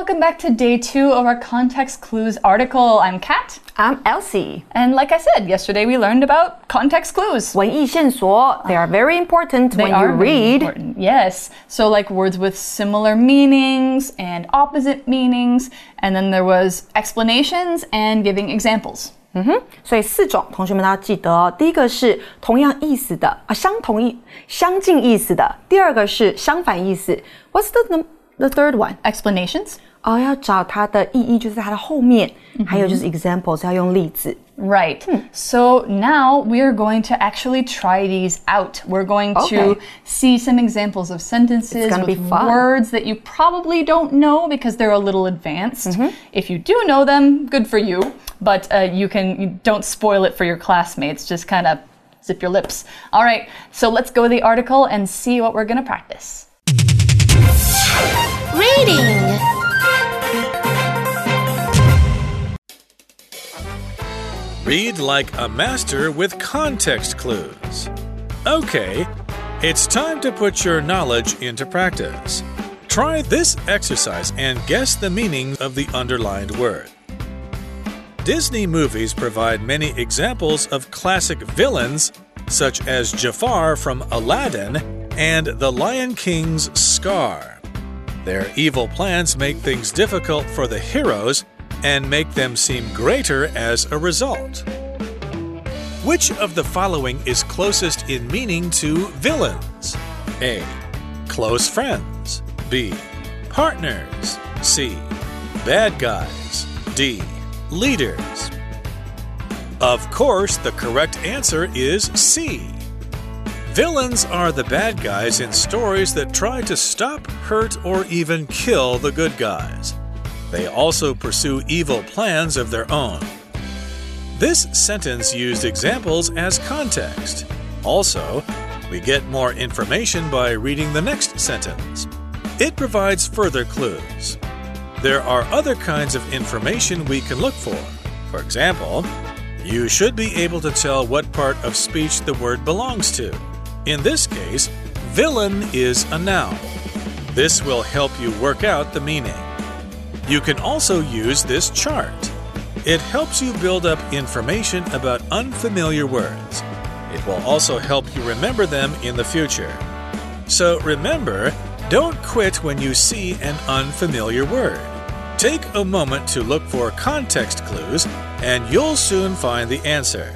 welcome back to day 2 of our context clues article. I'm Kat. I'm Elsie. And like I said, yesterday we learned about context clues. 文意线索, they are very important they when you read. Important. Yes. So like words with similar meanings and opposite meanings. And then there was explanations and giving examples. 所以4种同学们都要记得哦。第一个是同样意思的相近意思的。第二个是相反意思。What's the third one? Explanations. 要找它的意义就是在它的后面。还有就是 examples 要用例子。 Right. So now we are going to actually try these out. We're going to see some examples of sentences with words that you probably don't know because they're a little advanced. If you do know them, good for you. But you don't spoil it for your classmates. Just kind of zip your lips. All right. So let's go to the article and see what we're going to practice. Reading. Read like a master with context clues. Okay, it's time to put your knowledge into practice. Try this exercise and guess the meaning of the underlined word. Disney movies provide many examples of classic villains, such as Jafar from Aladdin and the Lion King's Scar. Their evil plans make things difficult for the heroes and make them seem greater as a result. Which of the following is closest in meaning to villains? A. Close friends. B. Partners. C. Bad guys. D. Leaders. Of course, the correct answer is C. Villains are the bad guys in stories that try to stop, hurt, or even kill the good guys. They also pursue evil plans of their own. This sentence used examples as context. Also, we get more information by reading the next sentence. It provides further clues. There are other kinds of information we can look for. For example, you should be able to tell what part of speech the word belongs to. In this case, villain is a noun. This will help you work out the meaning. You can also use this chart. It helps you build up information about unfamiliar words. It will also help you remember them in the future. So remember, don't quit when you see an unfamiliar word. Take a moment to look for context clues, and you'll soon find the answer.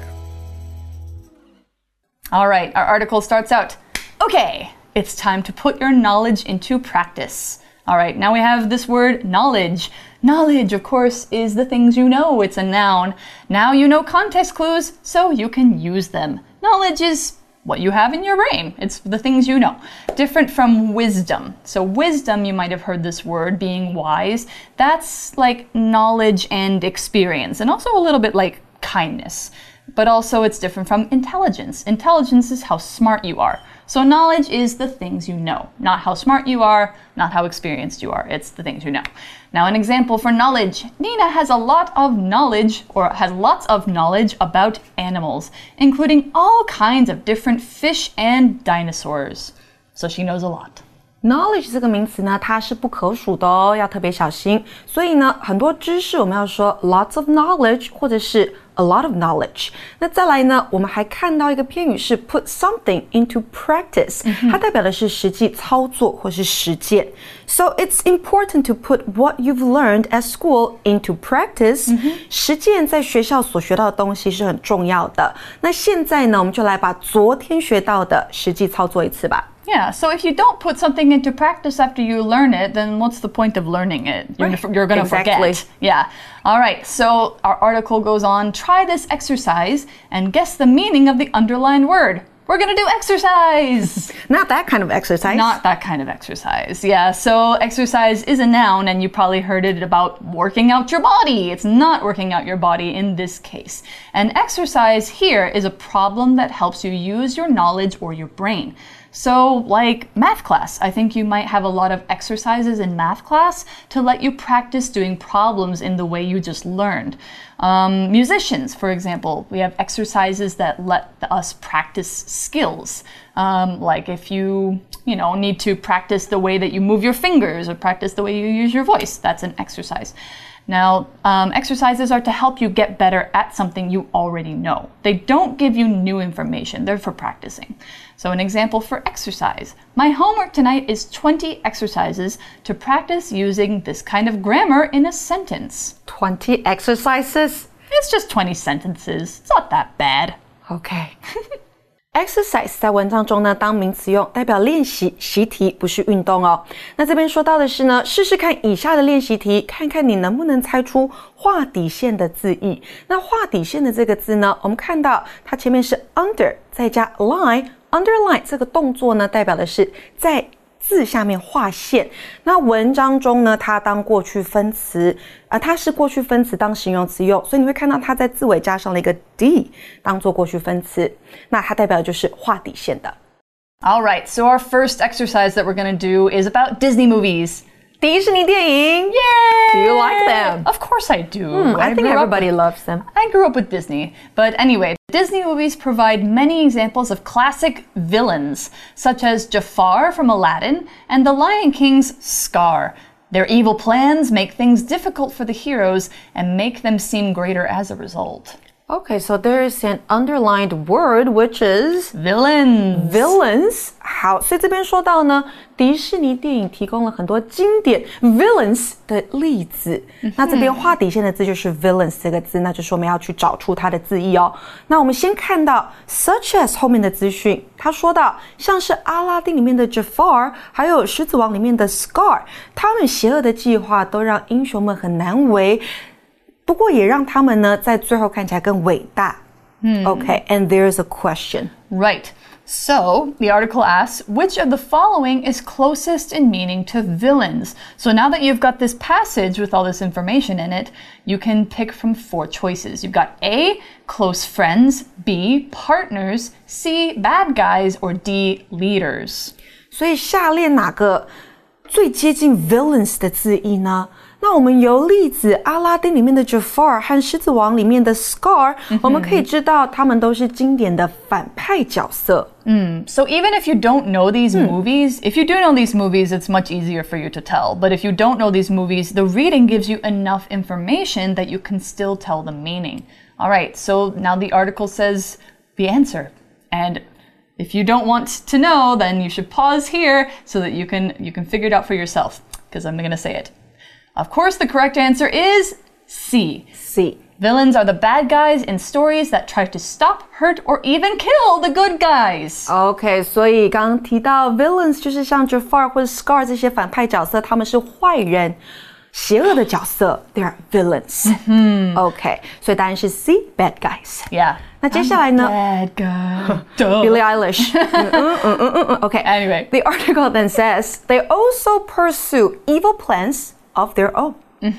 All right, our article starts out. Okay, it's time to put your knowledge into practice. All right, now we have this word knowledge. Knowledge, of course, is the things you know. It's a noun. Now you know context clues, so you can use them. Knowledge is what you have in your brain. It's the things you know. Different from wisdom. So wisdom, you might have heard this word, being wise. That's like knowledge and experience, and also a little bit like kindness. But also it's different from intelligence. Intelligence is how smart you are. So knowledge is the things you know, not how smart you are, not how experienced you are. It's the things you know. Now, an example for knowledge. Nina has lots of knowledge about animals, including all kinds of different fish and dinosaurs. So she knows a lot. Knowledge 这个名词呢，它是不可数的哦，要特别小心。所以呢，很多知识我们要说 lots of knowledge 或者是 a lot of knowledge. 那再来呢，我们还看到一个片語是 put something into practice. 它代表的是實際操作或是實踐。So it's important to put what you've learned at school into practice. 實踐在學校所學到的東西是很重要的。那現在呢，我們就來把昨天學到的實際操作一次吧。 Yeah, so if you don't put something into practice after you learn it, then what's the point of learning it? You're going to forget. Yeah. All right, so our article goes on. Try this exercise and guess the meaning of the underlined word. We're going to do exercise. Not that kind of exercise. Not that kind of exercise. Yeah, so exercise is a noun, and you probably heard it about working out your body. It's not working out your body in this case. And exercise here is a problem that helps you use your knowledge or your brain. So, like math class, I think you might have a lot of exercises in math class to let you practice doing problems in the way you just learned. Musicians, for example, we have exercises that let us practice skills. Like if you need to practice the way that you move your fingers or practice the way you use your voice, that's an exercise. Now, exercises are to help you get better at something you already know. They don't give you new information. They're for practicing. So an example for exercise. My homework tonight is 20 exercises to practice using this kind of grammar in a sentence. 20 exercises? It's just 20 sentences. It's not that bad. Okay. Exercise 在文章中呢当名詞用，代表練習習題，不是運動哦。那這邊說到的是呢，試試看以下的練習題，看看你能不能猜出畫底線的字義。那畫底線的這個字呢，我們看到它前面是 under 再加 line。Underline 這個動作呢，代表的是在字下面畫線。那文章中呢，它當過去分詞，它是過去分詞當形容詞用，所以你會看到它在字尾加上了一個 d 當做過去分詞。那它代表的就是畫底線的。 All right, so our first exercise that we're going to do is about Disney movies. 迪士尼電影 Yay! Do you like them? Of course I do. I think everybody loves them. I grew up with Disney. But anyway, Disney movies provide many examples of classic villains, such as Jafar from Aladdin and the Lion King's Scar. Their evil plans make things difficult for the heroes and make them seem greater as a result. Okay, so there is an underlined word, which is villains. Villains. 好，所以这邊說到呢，迪士尼電影提供了很多經典 villains 的例子。那這邊畫底線的字就是 villains 這個字，那就是我們要去找出它的字義哦。那我們先看到 such as 後面的資訊，他說到像是阿拉丁裡面的 Jafar， 還有獅子王裡面的 Scar， 他們邪惡的計劃都讓英雄們很難為。不過也讓他們呢在最後看起來更偉大。Okay, and there's a question. Right. So, the article asks, which of the following is closest in meaning to villains? So now that you've got this passage with all this information in it, you can pick from 4 choices. You've got A, close friends, B, partners, C, bad guys, or D, leaders. 所以下列哪個最接近 villains 的字義呢？那我們由例子阿拉丁裡面的 Jafar 和獅子王裡面的 Scar， 我們可以知道他們都是經典的反派角色。 So even if you don't know these movies, if you do know these movies, it's much easier for you to tell. But if you don't know these movies, the reading gives you enough information that you can still tell the meaning. All right, so now the article says the answer. And if you don't want to know, then you should pause here so that you can figure it out for yourself, because I'm going to say it. Of course, the correct answer is C. C. Villains are the bad guys in stories that try to stop, hurt, or even kill the good guys. Okay, 所以剛剛提到 villains 就是像 Jafar 或者 Scar 這些反派角色，他們是壞人，邪惡的角色 ，they are villains. Okay, 所以答案是 C, bad guys. Yeah. 那接下來呢 Bad guy. Billie Eilish. Okay. Anyway. The article then says, they also pursue evil plans of their own.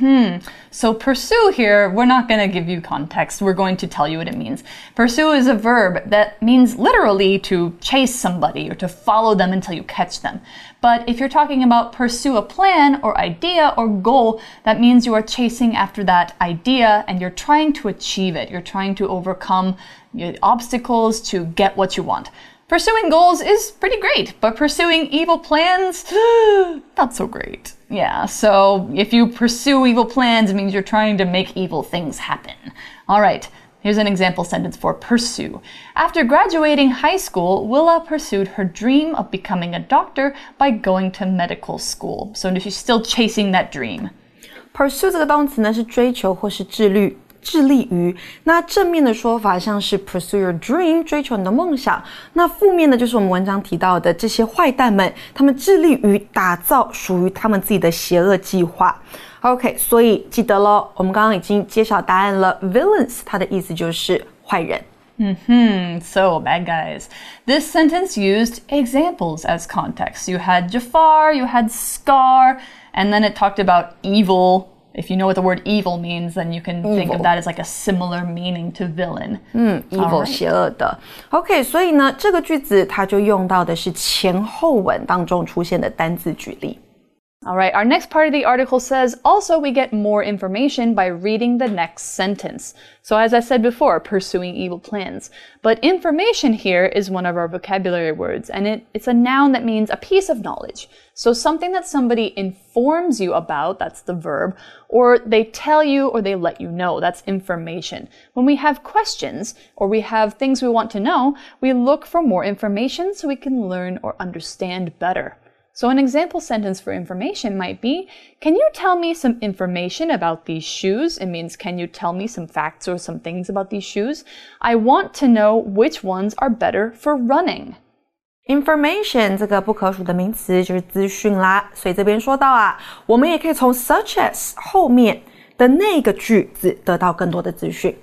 So pursue here, we're not going to give you context. We're going to tell you what it means. Pursue is a verb that means literally to chase somebody or to follow them until you catch them. But if you're talking about pursue a plan or idea or goal, that means you are chasing after that idea and you're trying to achieve it. You're trying to overcome obstacles to get what you want. Pursuing goals is pretty great, but pursuing evil plans, not so great. Yeah, so if you pursue evil plans, it means you're trying to make evil things happen. All right, here's an example sentence for pursue. After graduating high school, Willa pursued her dream of becoming a doctor by going to medical school. So she's still chasing that dream. Pursue 這個動詞呢是追求或是致力於，那正面的說法像是 pursue your dream 追求你的夢想，那負面的就是我們文章提到的這些壞蛋們，他們致力於打造屬於他們自己的邪惡計劃。OK， 所以記得咯，我們剛剛已經揭曉答案了 ，villains 它的意思就是壞人。 So bad guys. This sentence used examples as context. You had Jafar, you had Scar, and then it talked about evil If you know what the word evil means, then you can think of that as like a similar meaning to villain. Evil 邪恶的。OK， 所以呢，这个句子它就用到的是前后文当中出现的单字举例。 All right, our next part of the article says, also we get more information by reading the next sentence. So as I said before, pursuing evil plans. But information here is one of our vocabulary words, and it's a noun that means a piece of knowledge. So something that somebody informs you about, that's the verb, or they tell you or they let you know, that's information. When we have questions or we have things we want to know, we look for more information so we can learn or understand better. So an example sentence for information might be, can you tell me some information about these shoes? It means, can you tell me some facts or some things about these shoes? I want to know which ones are better for running. Information 这个不可数的名詞就是資訊啦，所以這邊說到啊，我們也可以從 such as 後面的那個句子得到更多的資訊。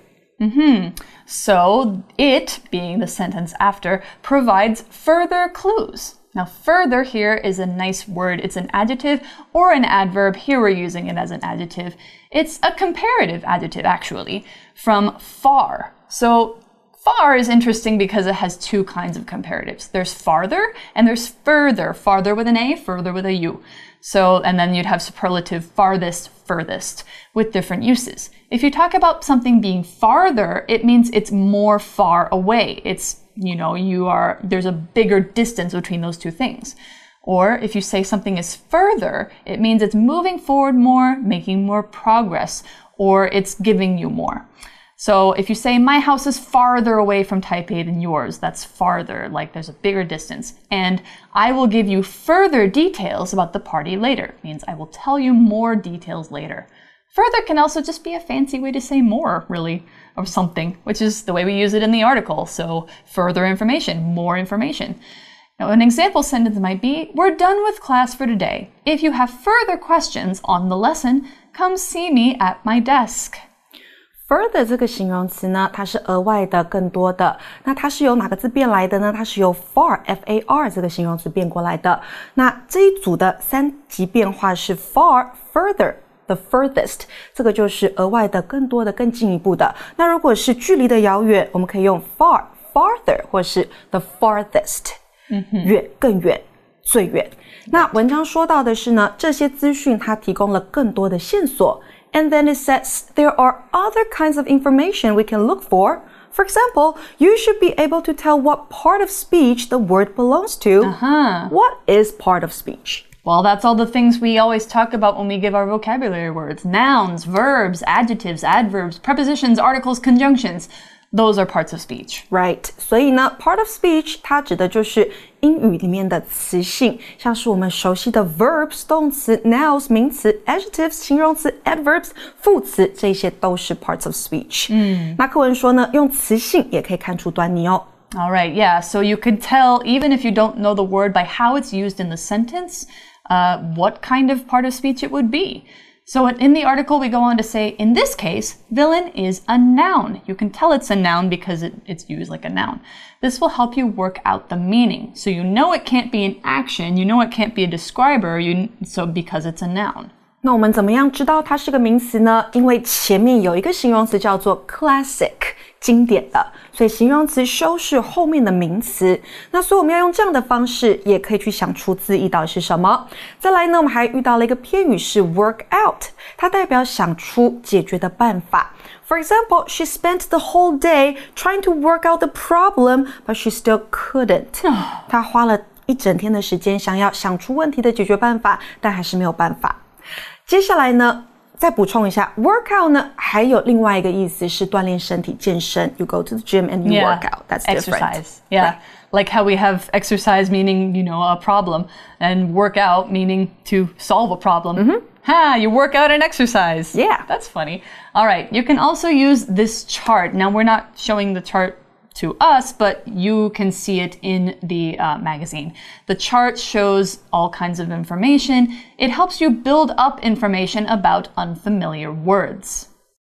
So it, being the sentence after, provides further clues. Now, further here is a nice word. It's an adjective or an adverb. Here we're using it as an adjective. It's a comparative adjective, actually, from far. So far is interesting because it has two kinds of comparatives. There's farther and there's further. Farther with an A, further with a U. So, and then you'd have superlative farthest, furthest with different uses. If you talk about something being farther, it means it's more far away. It's, there's a bigger distance between those two things. Or if you say something is further, it means it's moving forward more, making more progress, or it's giving you more. So if you say, my house is farther away from Taipei than yours, that's farther, like there's a bigger distance. And I will give you further details about the party later. It means I will tell you more details later. Further can also just be a fancy way to say more, really, of something, which is the way we use it in the article. So further information, more information. Now, an example sentence might be, we're done with class for today. If you have further questions on the lesson, come see me at my desk. Further 這個形容詞呢，它是額外的、更多的。那它是由哪個字變來的呢？它是由 far F-A-R 這個形容詞變過來的。那這一組的三級變化是 far, further。The furthest 這個就是額外的、更多的、更進一步的。那如果是距離的遙遠，我們可以用 far, farther 或是 the farthest，遠、更遠、最遠。那文章說到的是呢，這些資訊它提供了更多的線索。And then it says there are other kinds of information we can look for. For example, you should be able to tell what part of speech the word belongs to. What is part of speech? Well, that's all the things we always talk about when we give our vocabulary words. Nouns, verbs, adjectives, adverbs, prepositions, articles, conjunctions. Those are parts of speech. Right. 所以呢 part of speech 它指的就是英語裡面的詞性，像是我們熟悉的 verbs 動詞 nouns 名詞 adjectives 形容詞 adverbs 副詞，這些都是 parts of speech。那課文說呢，用詞性也可以看出端倪哦。 All right, yeah. So you could tell, even if you don't know the word, by how it's used in the sentence, what kind of part of speech it would be. So in the article, we go on to say, in this case, villain is a noun. You can tell it's a noun because it's used like a noun. This will help you work out the meaning. So you know it can't be an action, you know it can't be a describer, because it's a noun. 那我們怎麼樣知道它是個名詞呢？因為前面有一個形容詞叫做 classic， 經典的，所以形容詞修飾後面的名詞。那所以我們要用這樣的方式，也可以去想出字義到底是什麼。再來呢，我們還遇到了一個片語是 work out， 它代表想出解決的辦法。For example, she spent the whole day trying to work out the problem, but she still couldn't. 她花了一整天的時間想要想出問題的解決辦法，但還是沒有辦法。接下來呢，再補充一下 workout 呢，還有另外一個意思是鍛鍊身體健身 You go to the gym and you work out. That's different. Exercise. Yeah. Right. Like how we have exercise meaning, a problem, and work out meaning to solve a problem. You work out and exercise. Yeah. That's funny. All right. You can also use this chart. Now, we're not showing the chart to us, but you can see it in the magazine. The chart shows all kinds of information. It helps you build up information about unfamiliar words.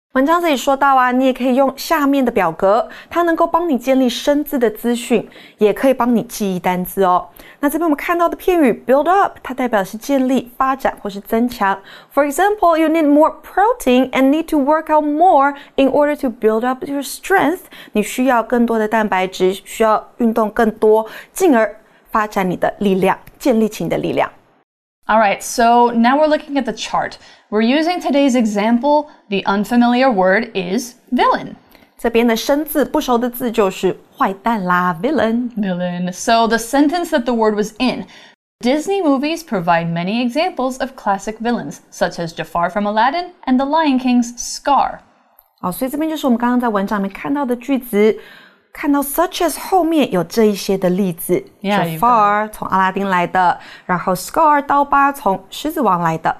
文章這裡說到啊，你也可以用下面的表格，它能夠幫你建立生字的資訊，也可以幫你記憶單字哦。那這邊我們看到的片語 build up， 它代表的是建立、發展或是增強。For example, you need more protein and need to work out more in order to build up your strength. 你需要更多的蛋白質，需要運動更多，進而發展你的力量，建立起你的力量。 All right, so now we're looking at the chart. We're using today's example. The unfamiliar word is villain. 這邊的生字不熟的字就是壞蛋啦 villain. Villain. So the sentence that the word was in. Disney movies provide many examples of classic villains, such as Jafar from Aladdin and The Lion King's Scar. 所以這邊就是我們剛剛在文章裡面看到的句子，看到 such as 後面有這一些的例子 Jafar 從阿拉丁來的，然後 Scar 刀疤從獅子王來的。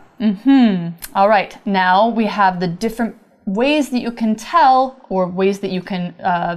All right, now we have the different ways that you can tell or ways that you can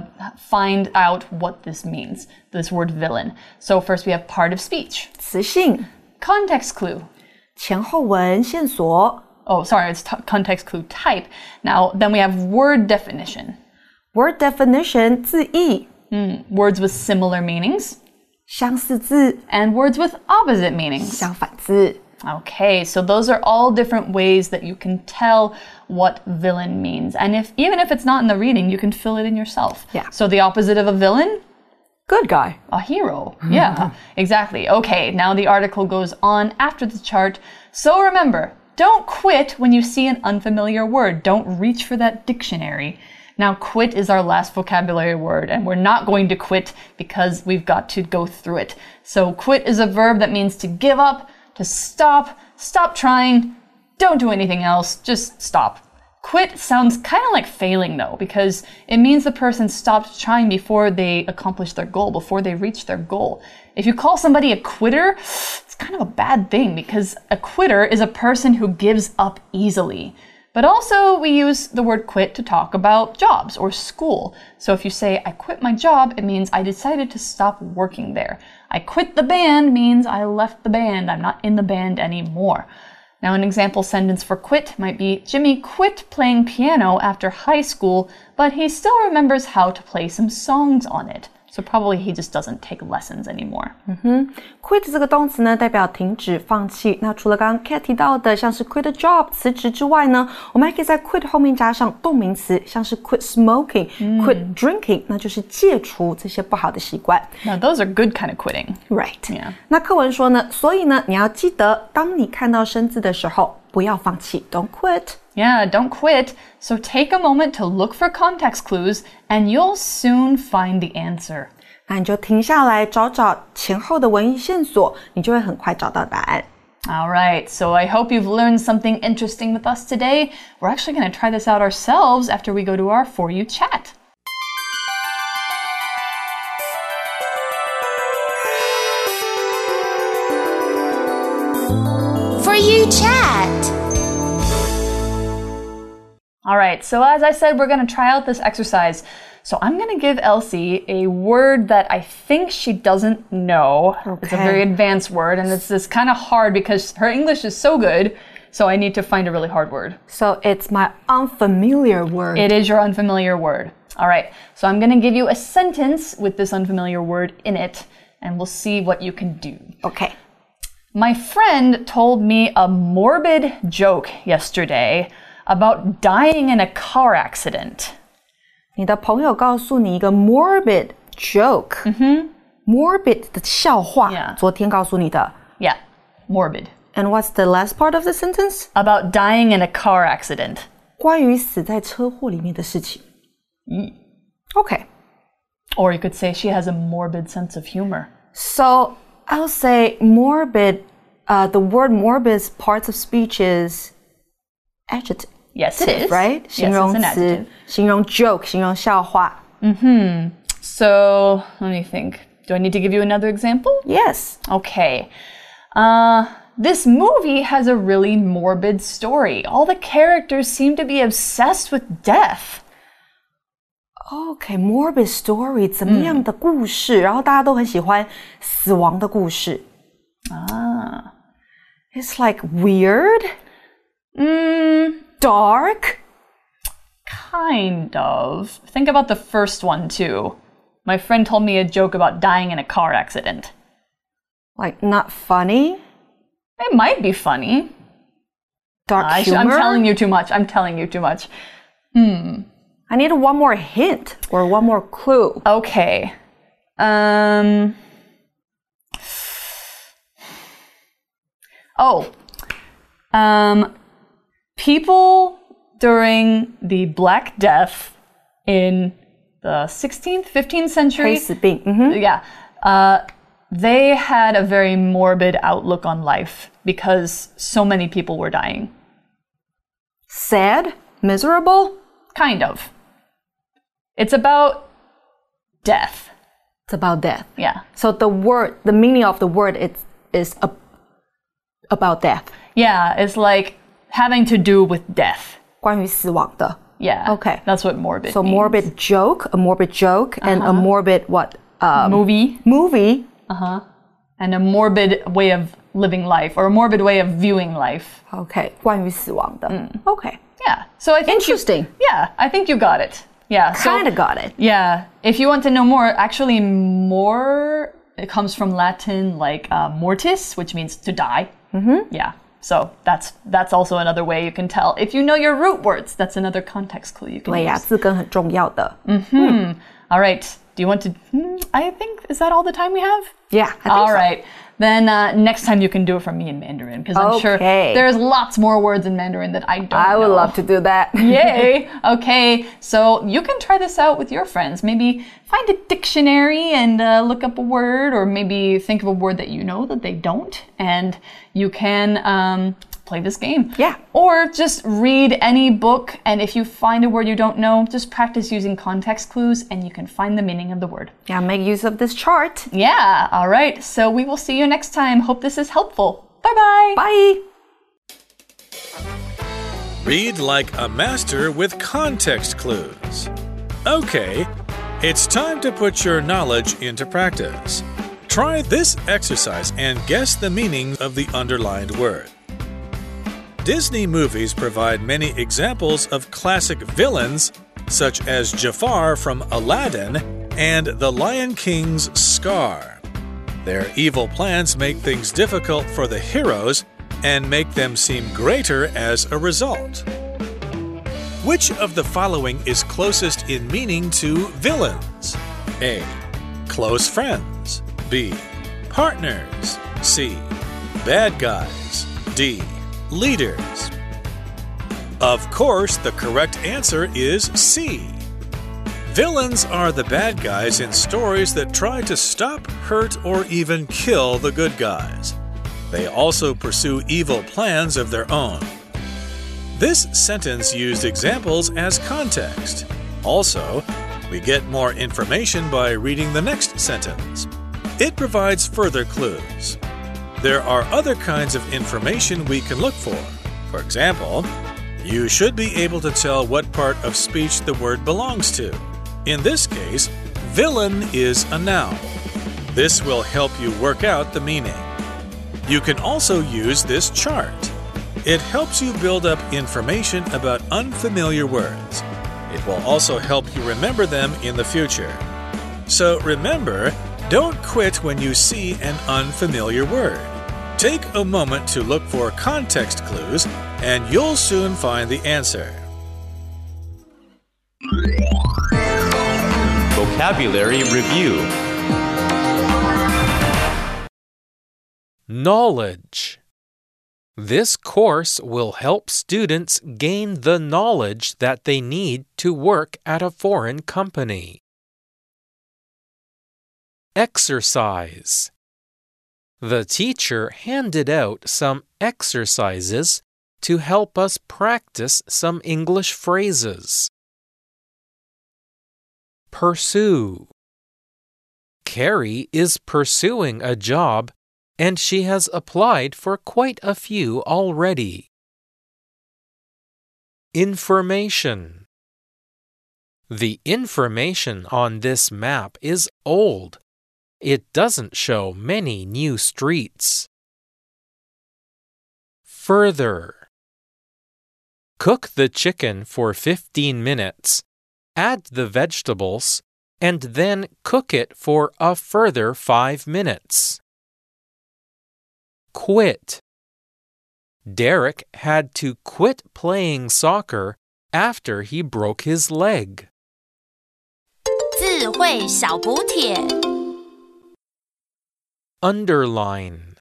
find out what this means, this word villain. So first we have part of speech. 詞性 Context clue. 前後文線索 Oh, sorry, it's context clue type. Now, then we have word definition. Word definition 字義 Words with similar meanings. 相似字 And words with opposite meanings. 相反字 Okay, so those are all different ways that you can tell what villain means. And even if it's not in the reading, you can fill it in yourself. Yeah. So the opposite of a villain? Good guy. A hero. Yeah, exactly. Okay, now the article goes on after the chart. So remember, don't quit when you see an unfamiliar word. Don't reach for that dictionary. Now, quit is our last vocabulary word, and we're not going to quit because we've got to go through it. So quit is a verb that means to give up, to stop trying, don't do anything else, just stop. Quit sounds kind of like failing though, because it means the person stopped trying before they accomplished their goal, before they reached their goal. If you call somebody a quitter, it's kind of a bad thing because a quitter is a person who gives up easily. But also we use the word quit to talk about jobs or school. So if you say, I quit my job, it means I decided to stop working there. I quit the band means I left the band. I'm not in the band anymore. Now, an example sentence for quit might be, Jimmy quit playing piano after high school, but he still remembers how to play some songs on it. So probably he just doesn't take lessons anymore. Quit 這個動詞呢，代表停止、放棄。那除了剛剛 Kat 提到的，像是 quit a job 辭職之外呢，我們還可以在 quit 後面加上動名詞，像是 quit smoking、quit drinking， 那就是戒除這些不好的習慣。 Now, those are good kind of quitting. Right. Yeah. 那課文說呢，所以呢，你要記得，當你看到生字的時候，不要放棄 ，Don't quit. Yeah, don't quit. So take a moment to look for context clues, and you'll soon find the answer. 那你就停下來找找前後的文意線索，你就會很快找到答案。 All right, so I hope you've learned something interesting with us today. We're actually going to try this out ourselves after we go to our For You chat. For You chat. All right, so as I said, we're going to try out this exercise. So I'm going to give Elsie a word that I think she doesn't know. Okay. It's a very advanced word, and it's this kind of hard because her English is so good, so I need to find a really hard word. So it's my unfamiliar word. It is your unfamiliar word. All right, so I'm going to give you a sentence with this unfamiliar word in it, and we'll see what you can do. Okay. My friend told me a morbid joke yesterday about dying in a car accident. 你的朋友告訴你一個 morbid joke. Morbid 的笑話 Yeah. 昨天告訴你的 Yeah, morbid. And what's the last part of the sentence? About dying in a car accident. 關於死在車禍裡面的事情。Okay. Or you could say she has a morbid sense of humor. So I'll say morbid. The word morbid's parts of speech is adjective. Yes, it is. Right? Yes, 形容 it's an 詞 adjective. 形容 joke, 形容笑話。 So, let me think. Do I need to give you another example? Yes. Okay. This movie has a really morbid story. All the characters seem to be obsessed with death. Okay, morbid story 怎麼樣的故事？然後大家都很喜歡死亡的故事。It's like weird. Dark. Kind of. Think about the first one, too. My friend told me a joke about dying in a car accident. Like, not funny? It might be funny. Dark humor? I'm telling you too much. I need one more hint or one more clue. Okay. People during the Black Death in the 16th, 15th century. 黑死病. Mm-hmm. Yeah. They had a very morbid outlook on life because so many people were dying. Sad? Miserable? Kind of. It's about death. It's about death. Yeah. So the meaning of the word is about death. Yeah, it's like having to do with death. 关于死亡的. Yeah. Okay. That's what morbid So means. a morbid joke, and a morbid what? Movie. Movie. And a morbid way of living life, or a morbid way of viewing life. Okay. 关于死亡的. Okay. Yeah. So I think Interesting. I think you got it. Yeah. Kind of got it. Yeah. If you want to know more, actually more, it comes from Latin like mortis, which means to die. Mm-hmm. Yeah. So that's also another way you can tell. If you know your root words, that's another context clue you can use. 字根很重要的. All right. Do you want to... I think... Is that all the time we have? Yeah, I think All so. right. Then next time you can do it from me in Mandarin, because I'm sure there's lots more words in Mandarin that I don't know. I would love to do that. Yay! Okay, so you can try this out with your friends. Maybe find a dictionary and look up a word, or maybe think of a word that you know that they don't, and you can play this game. Yeah. Or just read any book, and if you find a word you don't know, just practice using context clues, and you can find the meaning of the word. Yeah, make use of this chart. Yeah, all right. So we will see you next time. Hope this is helpful. Bye-bye. Bye. Read like a master with context clues. Okay, it's time to put your knowledge into practice. Try this exercise and guess the meaning of the underlined word. Disney movies provide many examples of classic villains, such as Jafar from Aladdin and the Lion King's Scar. Their evil plans make things difficult for the heroes and make them seem greater as a result. Which of the following is closest in meaning to villains? A. Close friends. B. Partners. C. Bad guys. D. Leaders. Of course, the correct answer is C. Villains are the bad guys in stories that try to stop, hurt, or even kill the good guys. They also pursue evil plans of their own. This sentence used examples as context. Also, we get more information by reading the next sentence. It provides further clues. There are other kinds of information we can look for. For example, you should be able to tell what part of speech the word belongs to. In this case, villain is a noun. This will help you work out the meaning. You can also use this chart. It helps you build up information about unfamiliar words. It will also help you remember them in the future. So remember, don't quit when you see an unfamiliar word. Take a moment to look for context clues, and you'll soon find the answer. Vocabulary Review. Knowledge. This course will help students gain the knowledge that they need to work at a foreign company. Exercise. The teacher handed out some exercises to help us practice some English phrases. Pursue. Carrie is pursuing a job, and she has applied for quite a few already. Information. The information on this map is old. It doesn't show many new streets. Further. Cook the chicken for 15 minutes, add the vegetables, and then cook it for a further 5 minutes. Quit. Derek had to quit playing soccer after he broke his leg. 智慧小补帖 Underline.